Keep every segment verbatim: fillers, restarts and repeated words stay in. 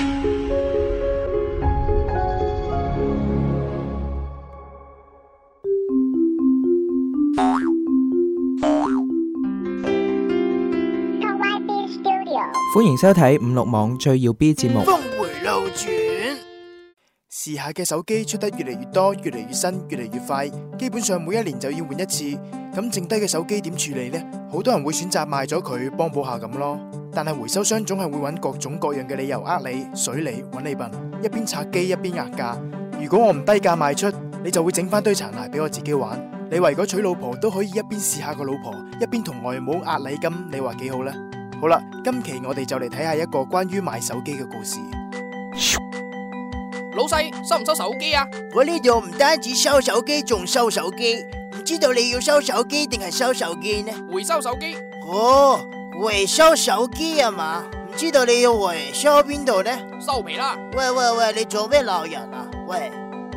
歡迎收睇五六網最耀 B 節目。 峰回路轉，時下嘅手機出得越嚟越多，越嚟越新，越嚟越快，基本上每一年就要換一次。咁剩低嘅手機點處理呢？好多人會選擇賣咗佢，幫補下咁咯。但係回收商總係會揾各種各樣嘅理由呃你、水你、揾你笨，一邊拆機一邊壓價。如果我唔低價賣出，你就會整翻堆殘骸俾我自己玩。你為咗娶老婆都可以一邊試下個老婆，一邊同外母壓禮金，你話幾好呢？好啦，今期我哋就嚟睇下一個關於賣手機嘅故事。 老細，收唔收手機啊？ 我呢度唔單止收手機，仲收手機。唔知道你要收手機定係收手機呢？ 回收手機。 哦，回收手機啊嘛？唔知道你要回收邊度呢？ 收皮啦！ 喂喂喂，你做咩鬧人啊？喂，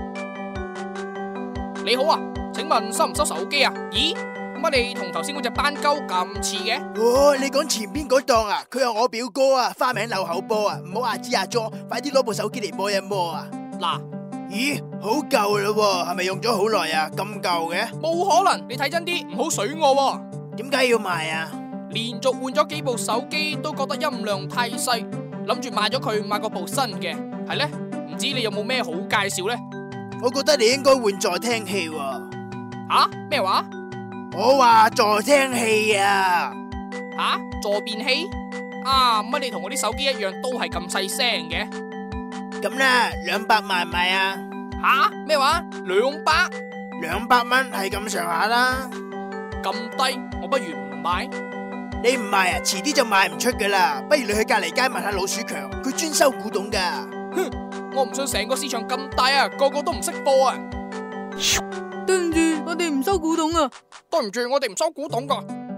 你好啊，請問收唔收手機啊？咦？乜你同頭先嗰隻斑鳩咁似嘅？ 哦，你講前邊嗰檔啊？佢係我表哥啊，花名漏口波啊，唔好阿支阿咗，快啲攞部手機嚟摸一摸啊！ 嗱， 咦，好舊啦，係咪用咗好耐啊？咁舊嘅？ 冇可能，你睇真啲，唔好水我喎。 點解要賣啊？ 連續換咗幾部手機，都覺得音量太細，諗住賣咗佢買個部新嘅，係呢？唔知你有冇咩好介紹呢？ 我覺得你應該換助聽器喎。 吓？咩話？ 我話助聽器啊！ 吓？助變器？啊，乜你同我啲手機一樣都係咁細聲嘅？ 咁啦，兩百賣唔賣啊？ 吓？咩話？兩百？ 兩百蚊係咁上下啦。 咁低，我不如唔買。 你唔賣啊，遲啲就賣唔出噶啦。不如你去隔籬街問下老鼠強，佢專收古董噶。 哼，我唔信成個市場咁大啊，個個都唔識貨啊。 對唔住，我哋唔收古董啊！ 對唔住，我哋唔收古董噶。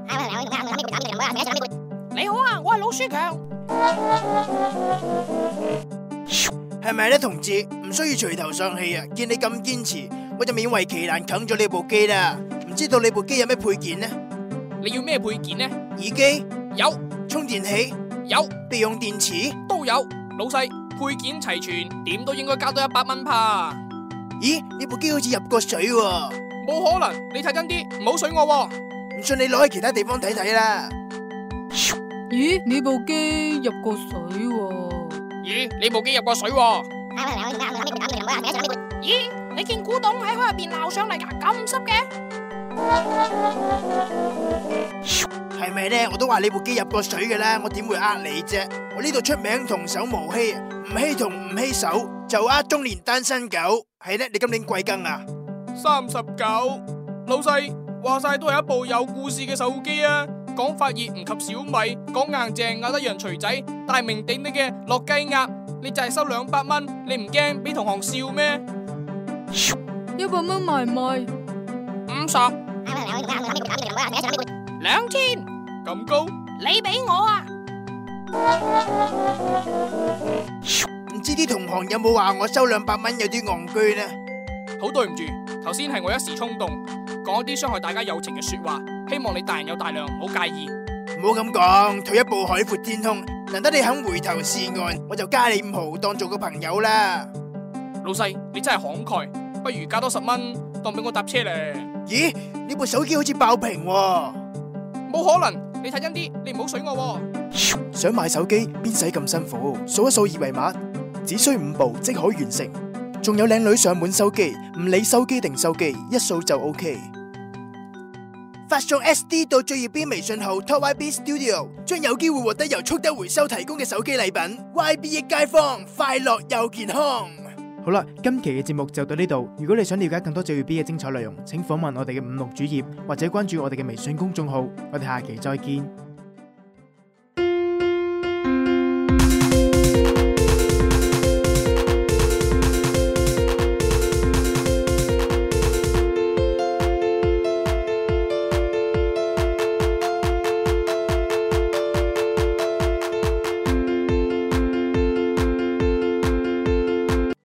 你好啊，我係老鼠強。 係咪咧，同志？唔需要隨頭喪氣啊！見你咁堅持，我就勉為其難啃咗你部機啦。唔知道你部機有咩配件呢？ 你要咩配件呢？ 耳機有， 充電器有， 備用電池都有。老細，配件齊全，點都應該加多一百蚊吧？ 咦，你部機好似入過水喎。 冇可能，你睇真啲，唔好水我喎。 唔信你攞去其他地方睇睇啦。 咦，你部機入過水喎？ 咦，你部機入過水喎？咦，你見古董喺海入邊撈上嚟噶，咁濕嘅？ 係咪呢？我都話你部機入過水嘅啦，我點會呃你啫？我呢度出名童叟無欺，唔欺童唔欺手，就呃中年單身狗。係呢，你今年貴庚啊？ 三十九。老細，話晒都係一部有故事嘅手機啊！講發熱唔及小米，講硬淨咬得人錘仔，大名鼎鼎嘅落雞鴨，你就係收兩百蚊，你唔驚俾同行笑咩？ 一百蚊賣唔賣？ 五十。兩千。咁高？你俾我啊！ 唔知啲同行有冇話我收兩百蚊有啲戇居呢？ 好對唔住，頭先係我一時衝動，講一啲傷害大家友情嘅說話，希望你大人有大量，唔好介意。 唔好咁講，退一步海闊天空，難得你肯回頭是岸，我就加你五毫當做個朋友啦。 老細，你真係慷慨，不如加多十蚊當俾我搭車咧。 咦，呢部手機好似爆屏喎。 冇可能，你睇真啲，你唔好水我喎。 想買手機邊使咁辛苦？掃一掃二維碼，只需五步即可完成。仲有靚女上門收機，唔理收機定收機，一掃就 OK。 發送 S D 到最耀 B 微信號 Top Y B Studio， 將有機會獲得由速德回收提供嘅手機禮品。Y B 益街坊，快樂又健康。 好啦，今期嘅節目就到呢度。如果你想了解更多最耀 B 嘅精彩內容，請訪問我哋嘅五六主頁或者關注我哋嘅微信公眾號。我哋下期再見。